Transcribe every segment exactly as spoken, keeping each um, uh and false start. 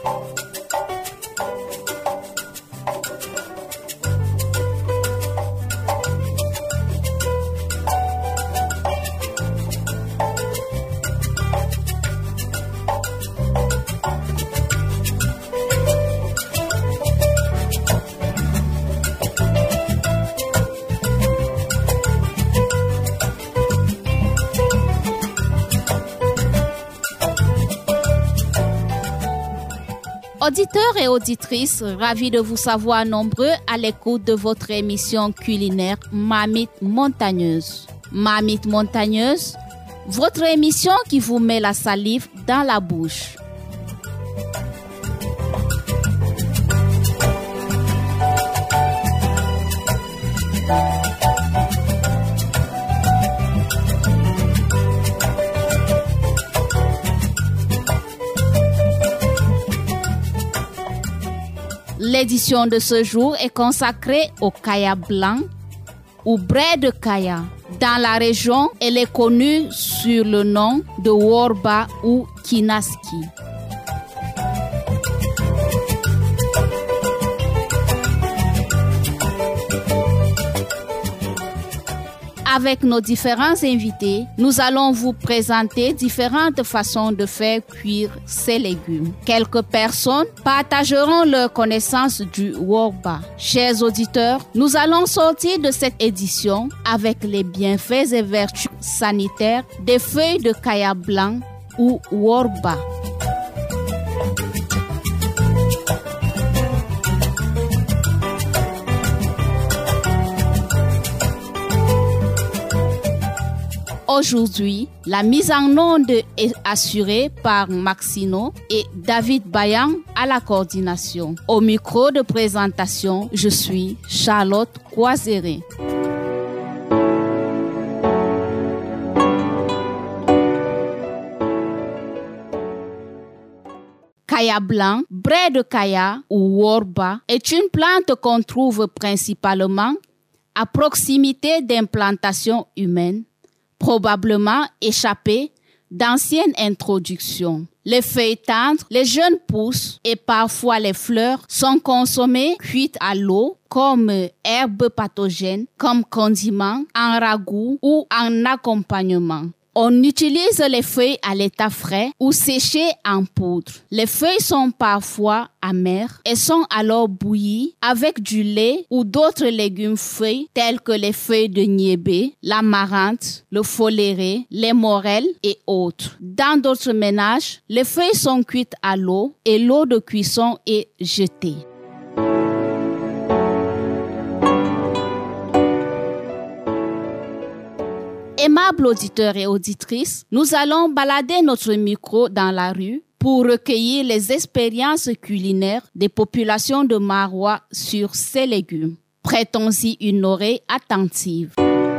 Auditeurs et auditrices, ravis de vous savoir nombreux à l'écoute de votre émission culinaire Marmite Montagneuse. Marmite Montagneuse, votre émission qui vous met la salive dans la bouche. L'édition de ce jour est consacrée au kaya blanc ou braie de kaya. Dans la région, elle est connue sur le nom de worba ou kinaski. Avec nos différents invités, nous allons vous présenter différentes façons de faire cuire ces légumes. Quelques personnes partageront leurs connaissances du worba. Chers auditeurs, nous allons sortir de cette édition avec les bienfaits et vertus sanitaires des feuilles de kaya blanc ou worba. Aujourd'hui, la mise en onde est assurée par Maxino et David Bayan à la coordination. Au micro de présentation, je suis Charlotte Coiseré. Kaya blanc, braie de kaya ou worba est une plante qu'on trouve principalement à proximité d'implantations humaines, probablement échappées d'anciennes introductions. Les feuilles tendres, les jeunes pousses et parfois les fleurs sont consommées cuites à l'eau comme herbes pathogènes, comme condiments, en ragoût ou en accompagnement. On utilise les feuilles à l'état frais ou séchées en poudre. Les feuilles sont parfois amères et sont alors bouillies avec du lait ou d'autres légumes feuilles tels que les feuilles de niébé, l'amarante, le foléré, les morels et autres. Dans d'autres ménages, les feuilles sont cuites à l'eau et l'eau de cuisson est jetée. Aimables auditeurs et auditrices, nous allons balader notre micro dans la rue pour recueillir les expériences culinaires des populations de Marois sur ces légumes. Prêtons-y une oreille attentive.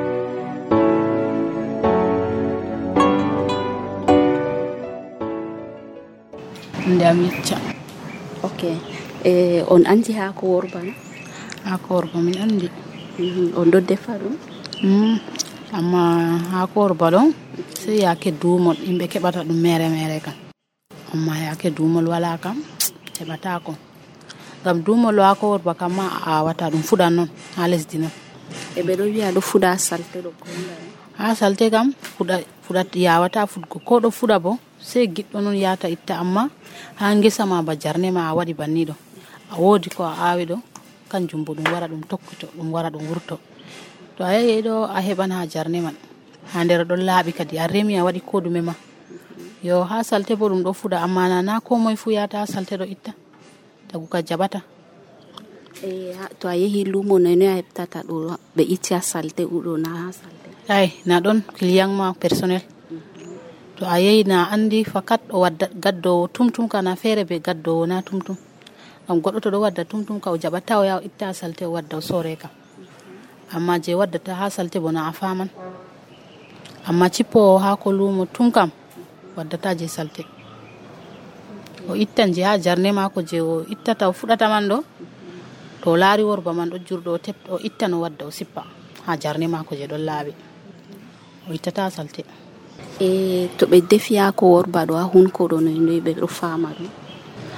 Ndamicha. Ok. Eh, on andi hako worba na? Hako worba min andi. Mm-hmm. On do defa dum? Mm. Amma hako worba ɗon sai yake duumol yimɓe keɓata ɗum mere mere kam, amma yake duumol wala kam heɓatako, ngam duumol hako worba kam ma a awata ɗum fuɗan noon ha lesdi noon. E ɓe ɗo wiya ɗo fuɗa ha salte ɗo konda ha salte kam fuɗa fuɗat yawata fuɗgo, ko ɗo fuɗa bo sai giɗɗo noon yata itta, amma ha ngesa ma ba jarne ma a waɗi banni ɗo a woodi ko a awi ɗo kanjum bo ɗum wara ɗum tokkito ɗum wara ɗum wurto. To a yahi ɗo a heɓan ha jarne man ha nder ɗon laaɓi kadi a remi a waɗi ko ɗume ma. Yo ha salte bo ɗum ɗo fuɗa, amma nana ko moye fu yata ha salte ɗo itta tagu ka jaɓata. E to a yehi lumo noy noy a heɓtata ɗo ɓe itti ha salte uɗo na ha salte? Ay na ɗon client ma personnel. To a yehi na andi fakat o wadda gaddowo tumtum kana feere be gaddowo na tumtum. Ngam goɗɗo to ɗo wadda tumtum ka o jaɓata o yaha o itta ha salte o wadda o sore kam. Amma je waddata ha salte bona a faman, amma cippo ha ko lumo tum kam waddata je salte. O ittan je ha jarne mako je o ittata o fuɗata man ɗo, to o laari worba man ɗo jurɗo o tep o ittan o wadda o sippa ha jarne mako je ɗon laaɓi, o ittata ha salte. E to ɓe defi hako worba ɗo ha hunko ɗo noy noy ɓe ɗo fama ɗum?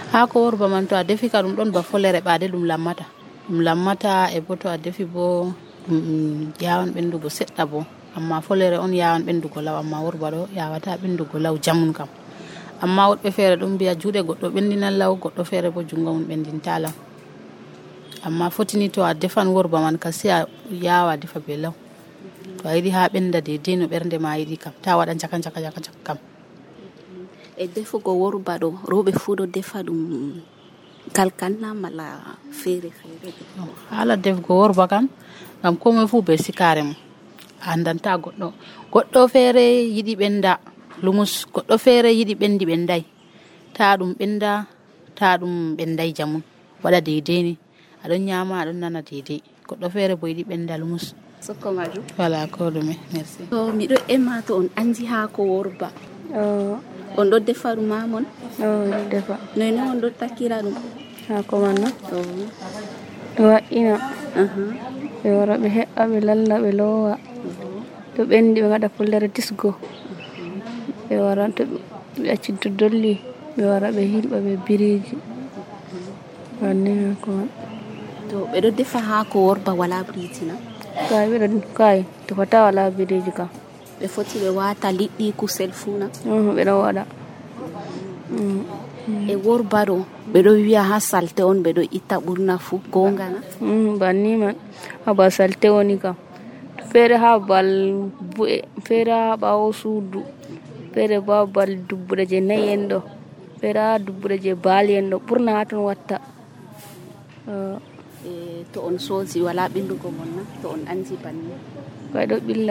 haako worba man to a defi ka ɗum ɗon ba follere ɓaade ɗum lammata ɗum lammata e bo to a defi bo ɗum yawan ɓendugo seɗɗa bo amma follere on yawan ɓendugo law amma worba ɗo yawata ɓendugo law jamun kam amma woɗɓe feere ɗum mbiya juuɗe goɗɗo ɓendinan law goɗɗo feere bo jungo mum ɓendinta law amma fotini to a defan worba man ka sai a yawa defa be law to a yiɗi ha ɓenda deidei no ɓernde ma yiɗi kam ta waɗa jaka jaka jaka jaka kam e defugo worba ɗo rewɓe fuu ɗo defa ɗum kalkanna mala feere feere haala defugo worba kam ngam komoi fuu be sikare mum a andanta goɗɗo goɗɗo feere yiɗi ɓenda lumus goɗɗo feere yiɗi ɓendi ɓendai ta ɗum ɓenda ta ɗum ɓendai jamun waɗa deidei ni aɗon nyama aɗon nana deidei goɗɗo feere bo yiɗi ɓenda lumus sokko majum wala ko ɗume merci to miɗo ema to on andi haako worba on ɗo defa ɗum mamon ɗo defa noyno on ɗo takkira ɗum haako man no ɓe wa'ina ɓe wara ɓe heɓɓa ɓe lalla ɓe lowa to ɓendi ɓe gaɗa follere tisgo ɓe wara to ɓe acci to dolli ɓe wara ɓe hilɓa ɓe biriji wanni haako man to ɓeɗo defa haako worba wala biriji na kay ɓeɗo kay tefata wala biriji kam ɓe foti ɓe wata liɗɗi kusel fuu na ɓeɗo waɗa e worba ɗo ɓeɗo wiya ha salte on ɓeɗo itta ɓurna fuu gonga na banni man ha ba salte woni kam feere ha bal bu'e feere ha ɓawo suudu feere bo ha bal dubbuɗe je nayi en ɗo feere ha dubbuɗe je baali en ɗo ɓurna ha ton watta to on soosi wala ɓillugo mon na to on andi banni kay ɗo ɓilla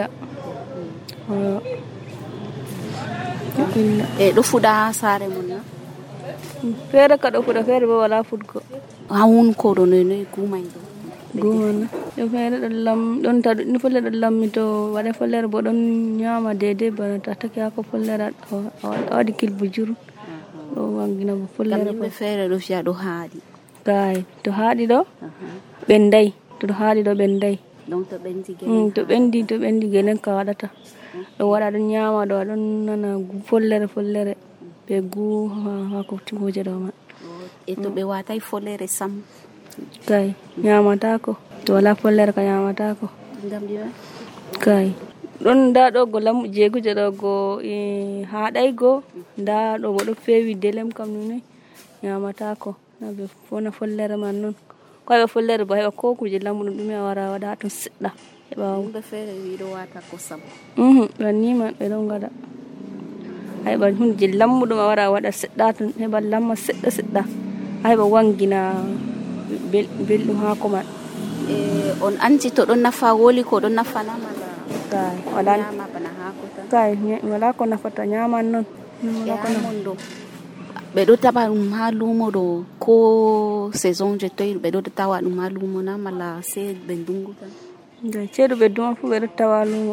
e ɗo fuɗa ha saare mon na feere ka ɗo fuɗa feere bo wala fuɗgo ha wunkoɗo noynoye gumay ɗo gumana ɗo feere ɗon lam ɗon ta ɗum follere ɗon lammi to waɗa follere bo ɗon nyama deidei bana to a taki hako follere a waɗi kilbu juru ɗo wangina bo follere yimɓe feere ɗo fiya ɗo haaɗi kay to haaɗi ɗo ɓendai to ɗo haaɗi ɗo ɓendai donc to ɓendi to ɓendi to ɓendi genen ka waɗata ɗo waɗa ɗon nyama ɗo aɗon nana follere follere ɓe gu hako timoje ɗo man e to ɓe watai follere sam kay nyamatako to wala follere ka nyamatako ngam ɗiwa kay ɗon nda ɗo go lam jeeguje ɗo go haɗay go nda ɗo bo ɗo fewi delem kam nune nyamatako na ɓe fona follere man noon ko heɓa follere bo heɓa ko kuje lammuɗum ɗume a wara waɗa ton seɗɗa heɓa yimɓe feere wiɗo wata kosam banni man ɓe ɗon gaɗa a heɓa hunde je lammuɗum a wara waɗa seɗɗa ton heɓa lamma seɗɗa seɗɗa a heɓa wangina belɗum haako man e on andi to ɗon nafa woli ko ɗon nafana mala kay wala nyama bana haako tan kay wala ko nafata nyaman noon e hamon ɗo ɓeɗo taɓa ɗum ha lumo ɗo ko saison je toyi ɓeɗo tawa ɗum ha lumo na mala se ɓe ndungu tan ceeɗu ɓe duma fu ɓeɗo tawa lumo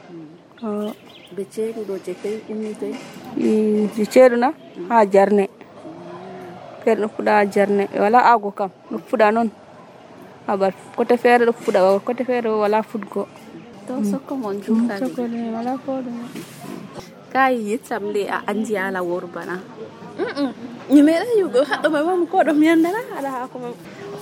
ɓe ceeɗu ɗo je toyi ummi toyi je ceeɗu na ha jarne feere ɗo fuɗa ha jarne ɓe wala ago kam ɗo fuɗa noon habar côté feere ɗo fuɗa côté feere wala fuɗgo to sokko mon juutani wala ko ɗume kay yettam le a andi ala worba na mi meeɗai yugo haɗɗo mai mam ko ɗo mi andana haɗa haako mam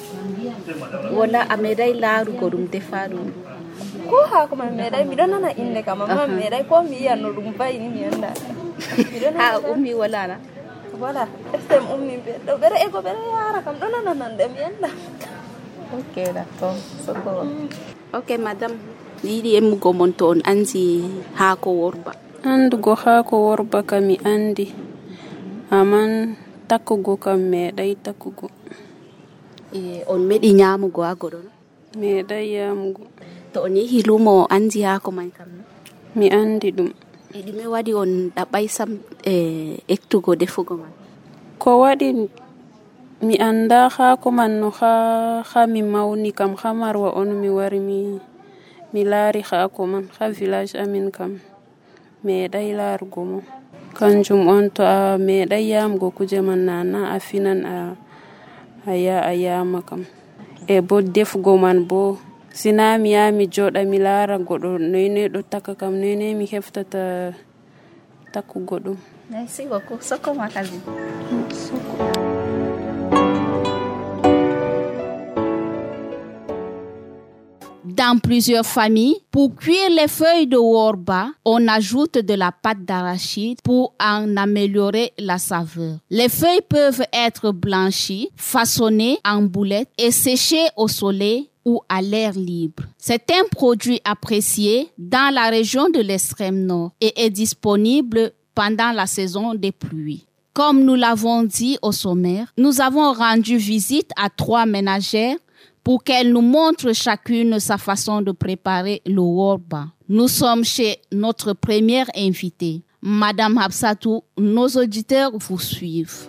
wala a meeɗai laarugo ɗum defa ɗum ko haako mai meeɗai miɗo nana inde kam amma mi meeɗai ko mi yiyan no ɗum bayini mi anda ha ummi wala na voilà estem ummi ɗo ɓeɗo ego ɓeɗo yara kam ɗo nana nande mi anda ok d'accord soko ok madame mi yiɗi emmugo mon to on andi haako worba andugo haako worba kam mi andi aman takkugo kam meeɗai takkugo e on meɗi nyamugo ha goɗo no meeɗai yamugo to on yehi lumo o andi haako man kam mi andi ɗum e ɗume waɗi on ɗaɓɓai sam e ektugo defugo man ko waɗi mi anda haako man no ha ha mi mawni kam ha marwa on mi wari mi mi laari haako man ha village amin kam meeɗai laarugo mo kanjum on to a meeɗai yamugo kuje man nana a finan a a ya a yama kam e bo defugo man bo sina mi ya mi joɗa mi laara goɗo noynoy ɗo taka kam noynoy mi heftata takkugo ɗum merci beaucoup soko ma kazi soko Dans plusieurs familles, pour cuire les feuilles de worba, on ajoute de la pâte d'arachide pour en améliorer la saveur. Les feuilles peuvent être blanchies, façonnées en boulettes et séchées au soleil ou à l'air libre. C'est un produit apprécié dans la région de l'extrême nord et est disponible pendant la saison des pluies. Comme nous l'avons dit au sommaire, nous avons rendu visite à trois ménagères pour qu'elles nous montrent chacune sa façon de préparer le worba. Nous sommes chez notre première invitée, Madame Hafsatou. Nos auditeurs vous suivent.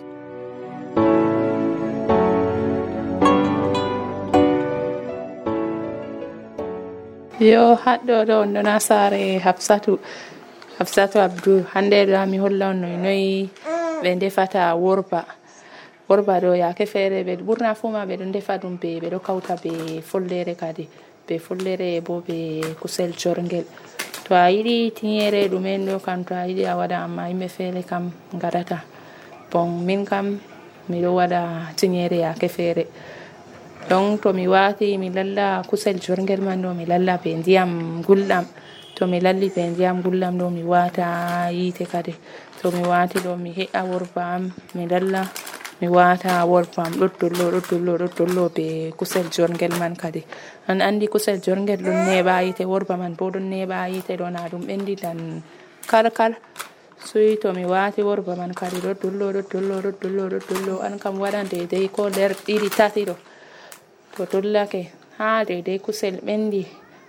Yo haɗɗo ɗo on ɗo na saare Hafsatu Hafsatu Abdou. Hande ɗo mi holla on noy noy ɓe ndefata worba. Worba ɗo yaake feere ɓe ɓurna fuu ma ɓe ɗo ndefa ɗum be ɓe ɗo kauta be follere kadi be follere bo be kusel jorngel. To a yiɗi tinyere ɗumen ɗo kam to a yiɗi a waɗa, amma yimɓe feere kam ngaɗata. Bon min kam miɗo waɗa tinyere yaake feere. Donc to mi wati mi lalla kusel jorngel man ɗo mi lalla be ndiyam gulɗam. To mi lalli be ndiyam gulɗam ɗo mi wata yite kadi. To mi wati ɗo mi he'a worba am mi lalla mi wata worba am ɗo dollo ɗo dollo ɗo dollo be kusel jorngel man kadi. An andi kusel jorngel ɗon neɓa yite, worba man bo ɗon neɓa yite ɗo na ɗum ɓendi tan kalkal. Soyi to mi wati worba man kadi ɗo dollo ɗo dollo ɗo dollo ɗo dollo an kam waɗan deidei ko nder ɗiɗi tati ɗo. To dollake ha deidei kusel ɓendi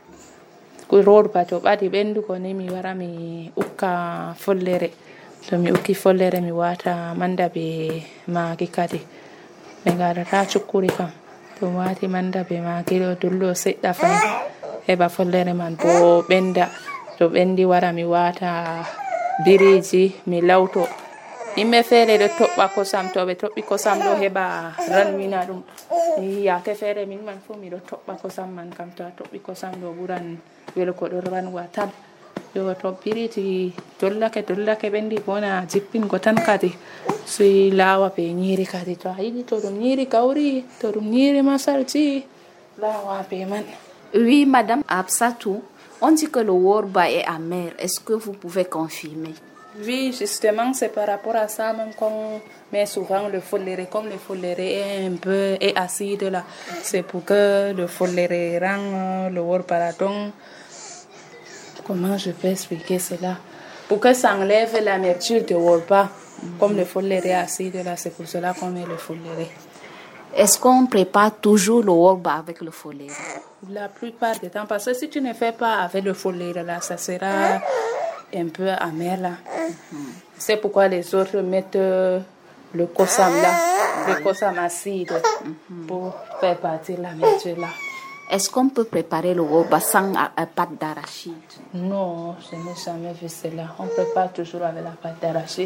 worba to ɓadi ɓendugo ni mi wara mi ukka follere. To mi ukki follere mi wata manda be magi kadi. Ɓe ngaɗata cukkuri kam. To wati manda be magi ɗo dollo seɗɗa fay heɓa follere man bo ɓenda. To ɓendi wara mi wata biriji mi lawto. Yimɓe feere ɗo toɓɓa kosam, to ɓe toɓɓi kosam ɗo heɓa ranwina ɗum. Yaake feere min man fu miɗo toɓɓa kosam man kam. To a toɓɓi kosam ɗo ɓuran welugo ɗo ranwa tan. Yo to biriji dollake dollake ɓendi bona jippingo tan kadi soy lawa be nyiri kadi. To a yiɗi to ɗum nyiri gauri, to ɗum nyiri masalji, lawa be man. Oui, Madame Hafsatou, on dit que le worba est amer. Est-ce que vous pouvez confirmer? Oui, justement, c'est par rapport à ça même qu'on met souvent le folléré. Comme le folléré est un peu est acide là, c'est pour que le folléré rend le worba. Donc, comment je peux expliquer cela? Pour que ça enlève l'amertume de worba. Mm-hmm. Comme le folléré est acide là, c'est pour cela qu'on met le folléré. Est-ce qu'on prépare toujours le worba avec le folléré? La plupart du temps, parce que si tu ne fais pas avec le folléré là, ça sera un peu amer là. Mm-hmm. C'est pourquoi les autres mettent euh, le kosam là, le kosam acide, mm-hmm, pour faire partir l'amertume là. Est-ce qu'on peut préparer le worba sans euh, pâte d'arachide? Non, je n'ai jamais vu cela. On prépare toujours avec la pâte d'arachide.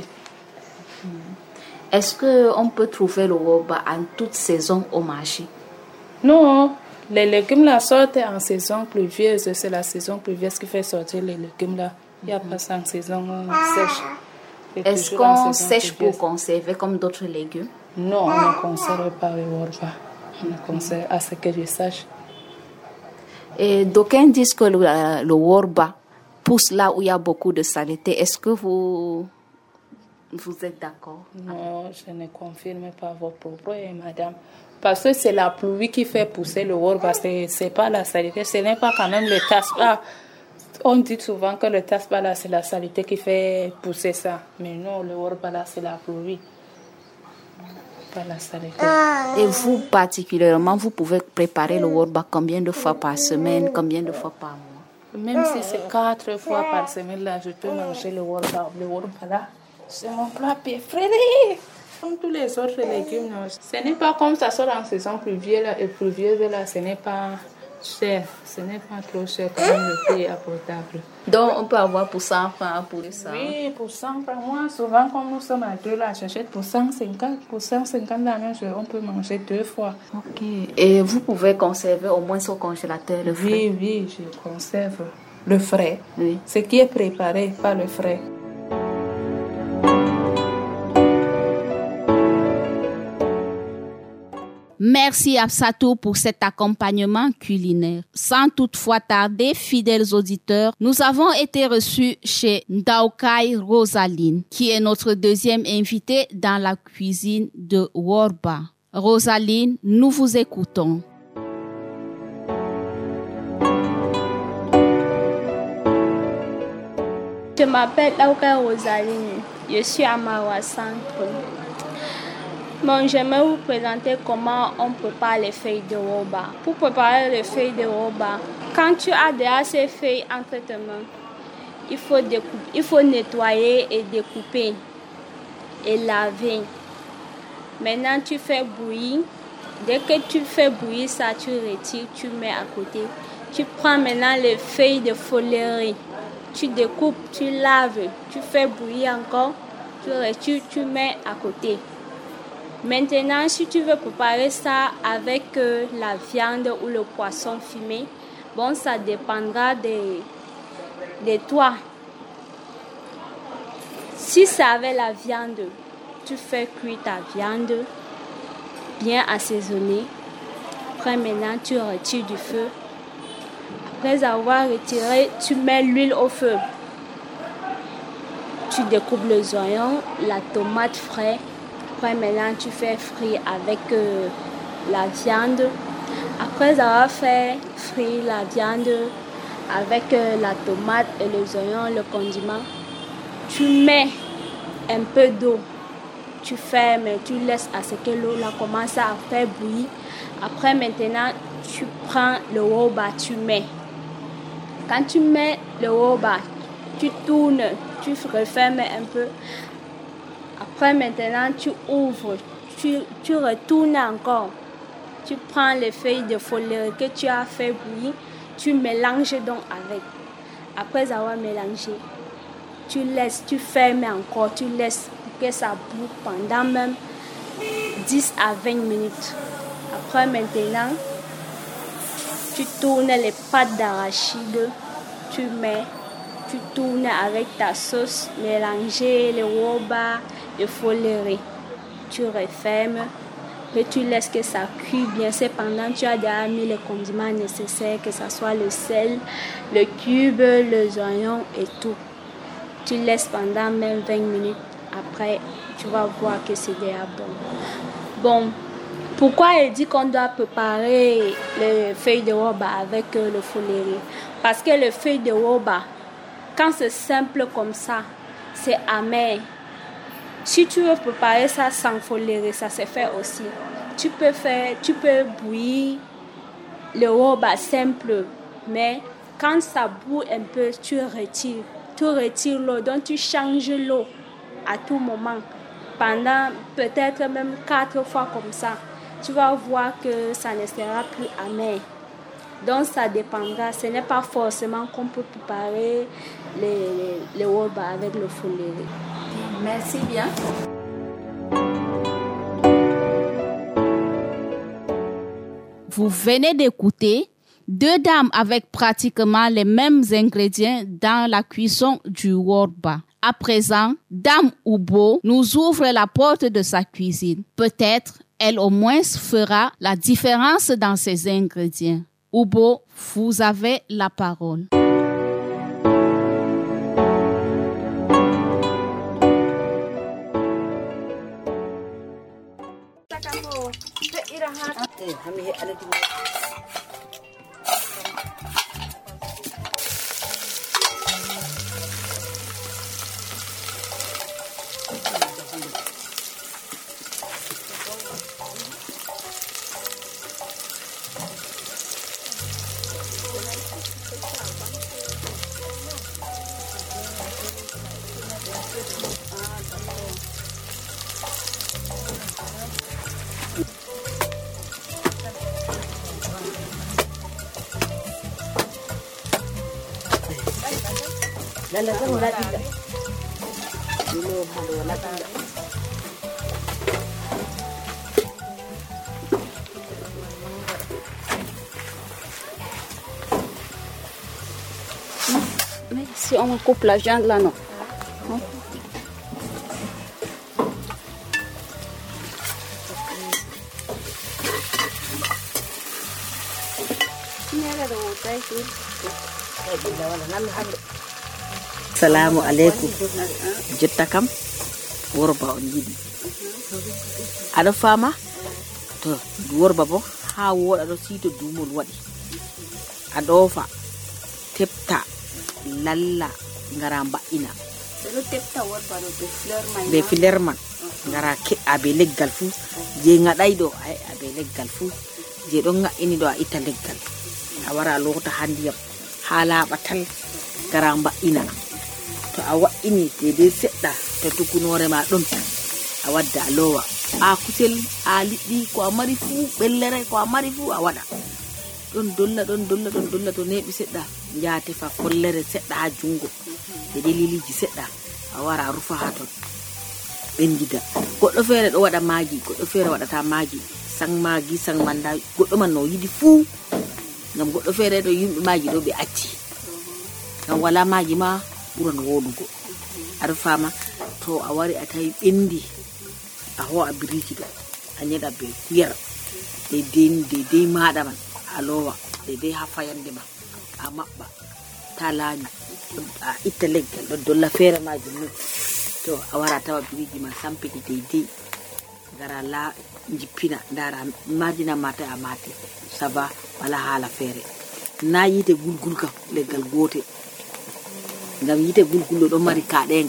Mm-hmm. Est-ce qu'on peut trouver le worba en toute saison au marché? Non, les légumes là sortent en saison pluvieuse. C'est la saison pluvieuse qui fait sortir les légumes là. Il n'y a pas ça en saison sèche. Est-ce qu'on sèche pour conserver comme d'autres légumes? Non, on ne conserve pas le worba. On ne conserve à ce que je sache. Et d'aucuns disent que le, le worba pousse là où il y a beaucoup de saleté. Est-ce que vous, vous êtes d'accord? Non, je ne confirme pas vos propos, madame. Parce que c'est la pluie qui fait pousser le worba. Ce n'est pas la saleté. Ce n'est pas quand même le taspa. On dit souvent que le taspa là, c'est la saleté qui fait pousser ça. Mais non, le worba là, c'est la pluie. Pas la saleté. Et vous, particulièrement, vous pouvez préparer le worba combien de fois par semaine, combien de fois par mois? Même si c'est quatre fois par semaine, là, je peux manger le worba. Le worba là, c'est mon plat préféré. Comme tous les autres légumes, non. Ce n'est pas comme ça sort en saison pluvieuse là, et pluvieuse là, ce n'est pas cher. Ce n'est pas trop cher quand même, le prix est abordable. Donc on peut avoir pour cent francs pour ça? Oui, pour cent francs. Moi, souvent, comme nous sommes à deux là, j'achète pour cent cinquante. Pour cent cinquante là, même, on peut manger deux fois. Ok. Et vous pouvez conserver au moins au congélateur le frais? Oui, oui, je conserve le frais. Oui. Ce qui est préparé, pas le frais. Merci Absatou pour cet accompagnement culinaire. Sans toutefois tarder, fidèles auditeurs, nous avons été reçus chez Ndaoukai Rosaline, qui est notre deuxième invitée dans la cuisine de Worba. Rosaline, nous vous écoutons. Je m'appelle Ndaoukai Rosaline. Je suis à Maroua Centre. Bon, j'aimerais vous présenter comment on prépare les feuilles de Worba. Pour préparer les feuilles de Worba, quand tu as déjà ces feuilles entre tes mains, il faut, découper, il faut nettoyer et découper et laver. Maintenant, tu fais bouillir. Dès que tu fais bouillir ça, tu retires, tu mets à côté. Tu prends maintenant les feuilles de follerie. Tu découpes, tu laves, tu fais bouillir encore, tu retires, tu mets à côté. Maintenant, si tu veux préparer ça avec euh, la viande ou le poisson fumé, bon, ça dépendra de, de toi. Si c'est avec la viande, tu fais cuire ta viande bien assaisonnée. Après, maintenant, tu retires du feu. Après avoir retiré, tu mets l'huile au feu. Tu découpes les oignons, la tomate fraîche. Après, maintenant, tu fais frire avec euh, la viande. Après avoir fait frire la viande avec euh, la tomate et les oignons, le condiment, tu mets un peu d'eau. Tu fermes, tu laisses à ce que l'eau là commence à faire bouillir. Après, maintenant, tu prends le Worba, tu mets. Quand tu mets le Worba, tu tournes, tu refermes un peu. Après, maintenant, tu ouvres, tu, tu retournes encore. Tu prends les feuilles de follerie que tu as fait bouillir, tu mélanges donc avec. Après avoir mélangé, tu laisses, tu fermes encore, tu laisses que ça boue pendant même dix à vingt minutes. Après, maintenant, tu tournes les pâtes d'arachide, tu mets, tu tournes avec ta sauce mélangée, le Worba, le follerie. Tu refermes, et tu laisses que ça cuit bien. Cependant, tu as déjà mis les condiments nécessaires, que ce soit le sel, le cube, les oignons et tout. Tu laisses pendant même vingt minutes. Après, tu vas voir que c'est déjà bon. Bon, pourquoi il dit qu'on doit préparer les feuilles de Worba avec le follerie? Parce que les feuilles de Worba, quand c'est simple comme ça, c'est amer. Si tu veux préparer ça sans follerie, ça se fait aussi. Tu peux faire, tu peux bouillir le Worba simple, mais quand ça bout un peu, tu retires. Tu retires l'eau, donc tu changes l'eau à tout moment. Pendant peut-être même quatre fois comme ça, tu vas voir que ça ne sera plus amer. Donc ça dépendra. Ce n'est pas forcément qu'on peut préparer les, les, les Worba avec le follerie. Merci bien. Vous venez d'écouter deux dames avec pratiquement les mêmes ingrédients dans la cuisson du Worba. À présent, Dame Oubo nous ouvre la porte de sa cuisine. Peut-être elle au moins fera la différence dans ses ingrédients. Oubo, vous avez la parole. Lalagyan mo natin ka. Dilo, halo natin ka. Mais si on coupe la viande là, non. Assalamu alaikum. Jotta kam worba on yiɗi. Aɗa fama? To worba bo ha woɗa ɗo sito dumol waɗi. A ɗofa tepta lalla ngara mba'ina. Beɗo tepta worba ɗo be fleur man. Be fleur man. Ngara ke'a be leggal fu. Je ngaɗay ɗo ay a be leggal fu. Je ɗon nga'ini ɗo a itta leggal. A wara lota ha ndiyam. Ha laɓa tan ngara mba'ina. To a wa'ini dede seɗɗa to tukunore ma ɗon a wadda a lowa a kusel a liɗɗi ko a mari fu ɓellere ko a mari fu a waɗa ɗon dolla ɗon dolla ɗon dolla to neɓi seɗɗa jaa tefa follere seɗɗa ha jungo dede liliji seɗɗa a wara a rufa ha ton ɓendida goɗɗo feere ɗo waɗa maagi goɗɗo feere waɗata maagi sang maagi sang manda goɗɗo man no yiɗi fu ngam goɗɗo feere ɗo yimɓe maagi ɗo ɓe acci ngam wala maagi ma ɓuran woɗugo aɗa fama to a wari a tawi ɓendi a ho'a biriji ɗo a ñeɗa be kuyar deydey deydey maɗa man a lowa deydey ha fayande ma a maɓɓa ta laañi a itta leggal ɗo dolla feere maji ni to a wara tawa biriji ma sampiti deydey gara la jippina dara marjina mata a mati ça va wala haala feere na yite gulgul kam leggal gote ngam yite gulgullo ɗo mari kaɗenga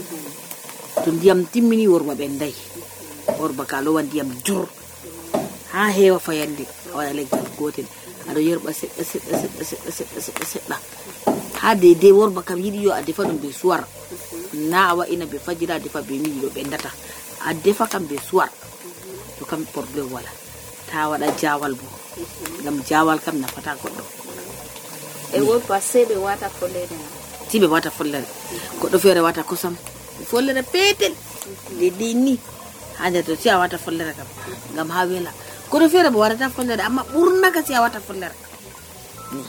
to ndiyam timmini worba ɓenday worba ka lowa ndiyam jur ha heewa fayande a waɗa leggal gotel aɗa yerɓa seɗɗa seɗɗa seɗɗa seɗɗa seɗɗa seɗɗa seɗɗa ha deydey worba kam yiɗi yo a defa ɗum be suwar na a wa'ina be fajira a defa be miji ɗo ɓendata a defa kam be suwar to kam probléme wala ta waɗa jawal bo ngam jawal kam nafata goɗɗo e worba se ɓe wata follere ti ɓe wata follere goɗɗo feere wata kosam follere petel deydey ni ha nder to si a wata follere kam ngam ha wela goɗɗo feere bo waɗata follere amma ɓurna ka si a wata follere ni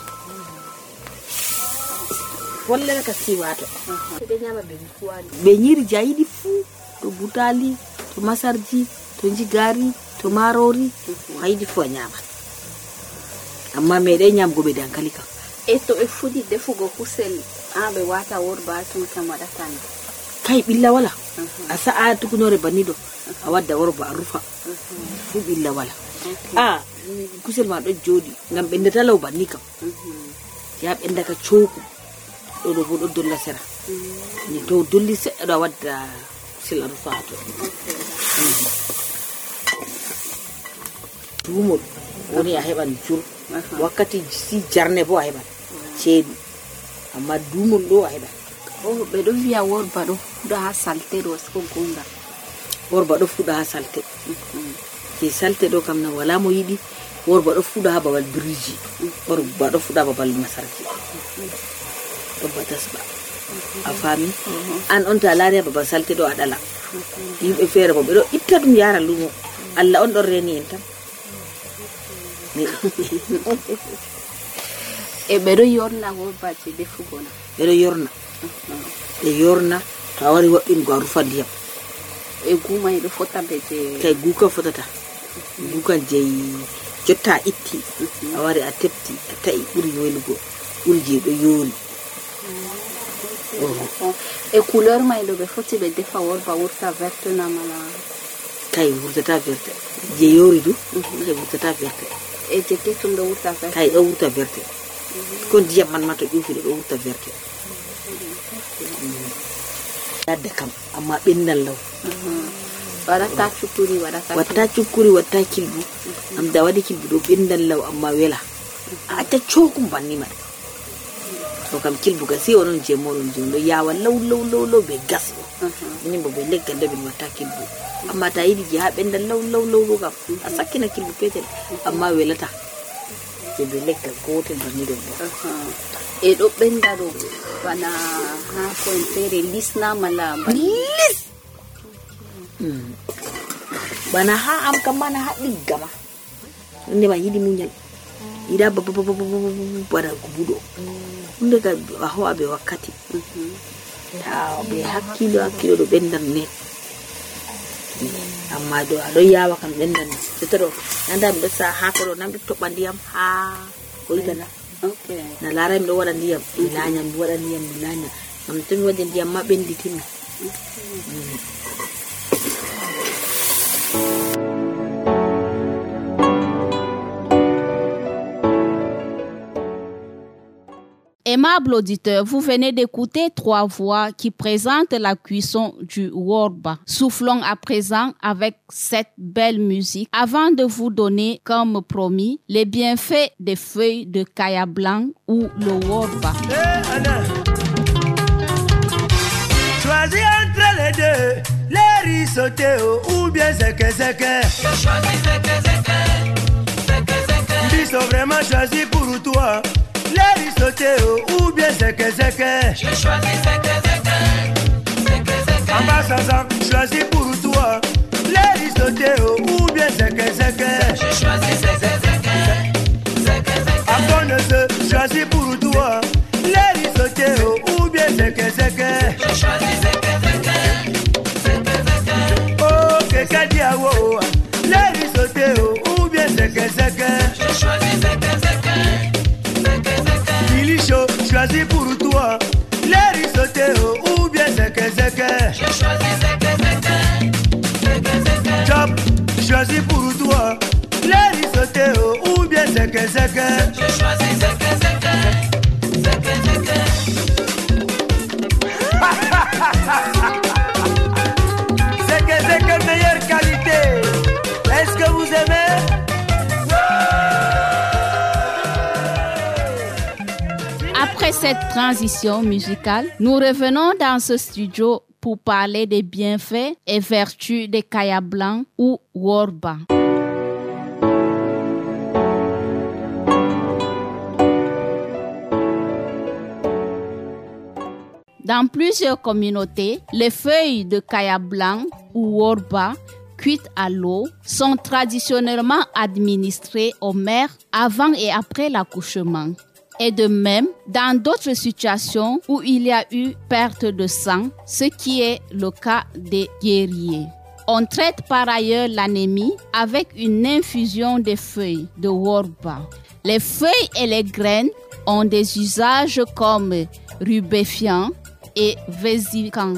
follere ka si wato ɓe ñiri ja yiɗi fuu to butali to masarji to jigari to marori ha yiɗi fuu a ñama amma meɗen ñamgoɓe dankali kam e to ɓe fuɗi defugo kusel a ɓe wata worba tun kam waɗatani kay ɓilla wala a sa'a tukunore banni ɗo a wadda worba a rufa fu ɓilla wala a kusel ma ɗo joɗi ngam ɓendata law banni kam ya ɓendaka cooku ɗo ɗo bo ɗo dolla sera ni to dolli seɗɗa ɗo a wadda kusel a rufa ha to tumol woni a heɓan jur wakkati si jarne bo a heɓan ceeɗu amma dumol ɗo a heɓan o ɓe ɗo wiya worba ɗo fuɗa ha salte ɗo ko gonga worba ɗo fuɗa ha salte je salte ɗo kam na wala mo yiɗi worba ɗo fuɗa ha babal biriji worba ɗo fuɗa babal masarji ɗo batasba a fami an on ta laari ha babal salte ɗo a ɗala yimɓe feere bo ɓe ɗo itta ɗum yara lumo Allah on ɗon reni en tan e ɓe ɗo yorna worbaje defugo na ɓe ɗo yorna ɓe yorna to a wari waɗɗingo a rufa ndiyam e gumay ɗo fota be je kay guka fotata gukan jeyi jotta a itti a wari a tepti a ta'i ɓuri welugo ɓuri je ɗo yori e couleur may ɗo ɓe foti ɓe defa worba wurta verte na mala kay wurtata verte je yori du kay wurtata verte e je ketum ɗo wurta verte kay ɗo wurta verte ko ndiyam man ma to ƴufi ɗo ɗo wurta verte yadda kam amma ɓendal law waɗata cukkuri waɗata watta cukkuri watta kilbu am da waɗi kilbu ɗo ɓendal law amma wela a acca cookum banni man to kam kilbu ga si onon je moɗon je ɗo yawa law law law law be gas ɗo minin bo ɓe leggal nde ɓen watta kilbu amma ta yiɗi je ha ɓendal law law law law kam a sakkina kilbu petel amma welata je ɓe leggal gotel banni ɗon ɗo e ɗo ɓenda ɗo bana ha ko en feere lisna mala lis bana ha am kam mana ha ɗigga ma nde ma yiɗi muñal yiɗa bana ko buɗo hunde ka a ho'a ɓe wakkati ta ɓe hakkilo hakkilo ɗo ɓendan ne amma ɗo aɗo yawa kam ɓendan jotta ɗo nanda mi ɗo sa hako ɗo nam ɗo toɓɓa ndiyam ha hoygana Okay. na lara mi ɗo waɗa ndiyam mi laanya mi waɗa ndiyam mi laanya ngam to mi waɗi ndiyam ma ɓenditimi. Aimable auditeur, vous venez d'écouter trois voix qui présentent la cuisson du worba. Soufflons à présent avec cette belle musique avant de vous donner, comme promis, les bienfaits des feuilles de kaya blanc ou le worba. Hey, Anna. Choisis entre les deux, les riz sautés ou bien zeke zeke. Je choisis zeke zeke, zeke zeke. Ils sont vraiment choisis pour toi. Les riz sautés ou bien zeke zeke. Je choisis zeke zeke, zeke zeke. En bas sans choisis pour toi. Les riz sautés ou bien zeke zeke. Je choisis zeke zeke, zeke zeke. À bonne choisis pour toi. Les riz sautés ou bien zeke zeke. Je choisis zeke zeke, zeke zeke. Oh, keka diawo. Les riz sautés ou bien zeke zeke. Je choisis zeke zeke. Choisis pour toi les riz sautés ou bien zeke zeke. Je choisis zeke zeke, zeke zeke. Chop, choisis pour toi les riz sautés ou bien zeke zeke. Je choisis zeke zeke, zeke zeke. Zeke zeke, meilleure qualité. Est-ce que vous aimez? Après cette transition musicale, nous revenons dans ce studio pour parler des bienfaits et vertus des kaya blancs ou worba. Dans plusieurs communautés, les feuilles de kaya blanc ou worba cuites à l'eau sont traditionnellement administrées aux mères avant et après l'accouchement. Et de même, dans d'autres situations où il y a eu perte de sang, ce qui est le cas des guerriers. On traite par ailleurs l'anémie avec une infusion des feuilles de worba. Les feuilles et les graines ont des usages comme rubéfiant et vésicant,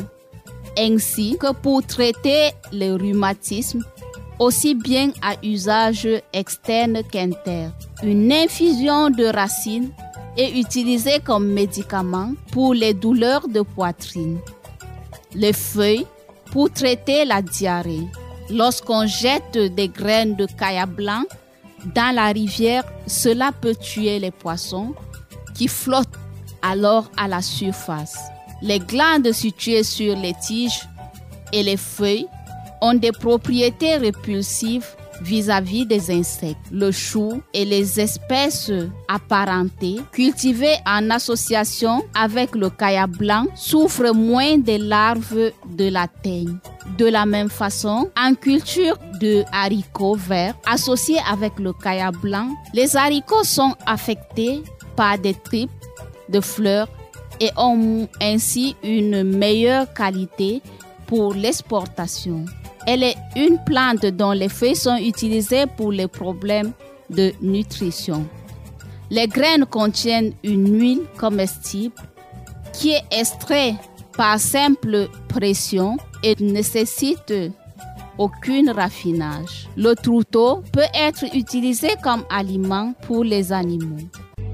ainsi que pour traiter le rhumatisme, aussi bien à usage externe qu'interne. Une infusion de racines est utilisée comme médicament pour les douleurs de poitrine. Les feuilles pour traiter la diarrhée. Lorsqu'on jette des graines de kaya blanc dans la rivière, cela peut tuer les poissons qui flottent alors à la surface. Les glandes situées sur les tiges et les feuilles ont des propriétés répulsives vis-à-vis des insectes. Le chou et les espèces apparentées cultivées en association avec le kaya blanc souffrent moins des larves de la teigne. De la même façon, en culture de haricots verts associés avec le kaya blanc, les haricots sont affectés par des tripes de fleurs et ont ainsi une meilleure qualité pour l'exportation. Elle est une plante dont les feuilles sont utilisées pour les problèmes de nutrition. Les graines contiennent une huile comestible qui est extraite par simple pression et ne nécessite aucun raffinage. Le trouteau peut être utilisé comme aliment pour les animaux.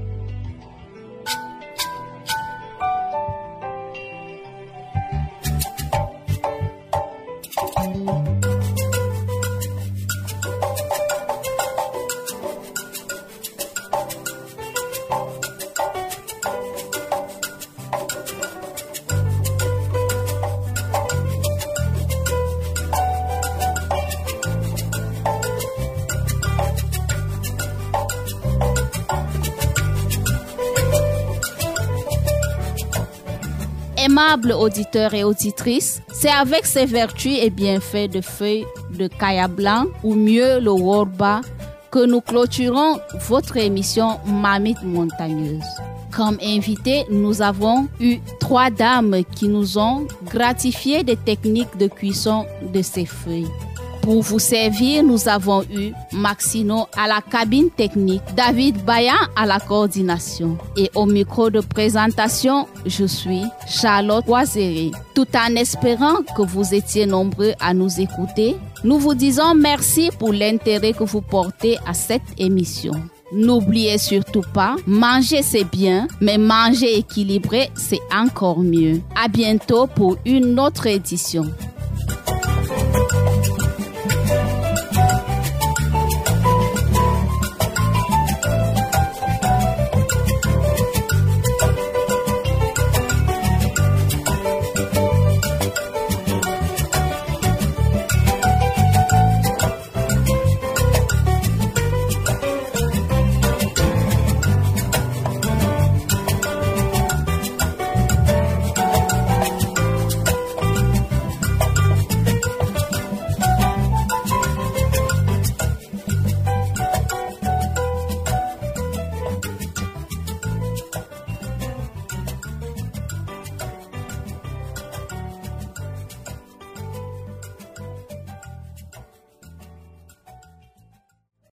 Aimables auditeurs et auditrices, c'est avec ces vertus et bienfaits de feuilles de kaya blanc ou mieux le worba que nous clôturons votre émission Mamite Montagneuse. Comme invités, nous avons eu trois dames qui nous ont gratifié des techniques de cuisson de ces feuilles. Pour vous servir, nous avons eu Maxino à la cabine technique, David Bayan à la coordination. Et au micro de présentation, je suis Charlotte Boiséré. Tout en espérant que vous étiez nombreux à nous écouter, nous vous disons merci pour l'intérêt que vous portez à cette émission. N'oubliez surtout pas, manger c'est bien, mais manger équilibré c'est encore mieux. À bientôt pour une autre édition.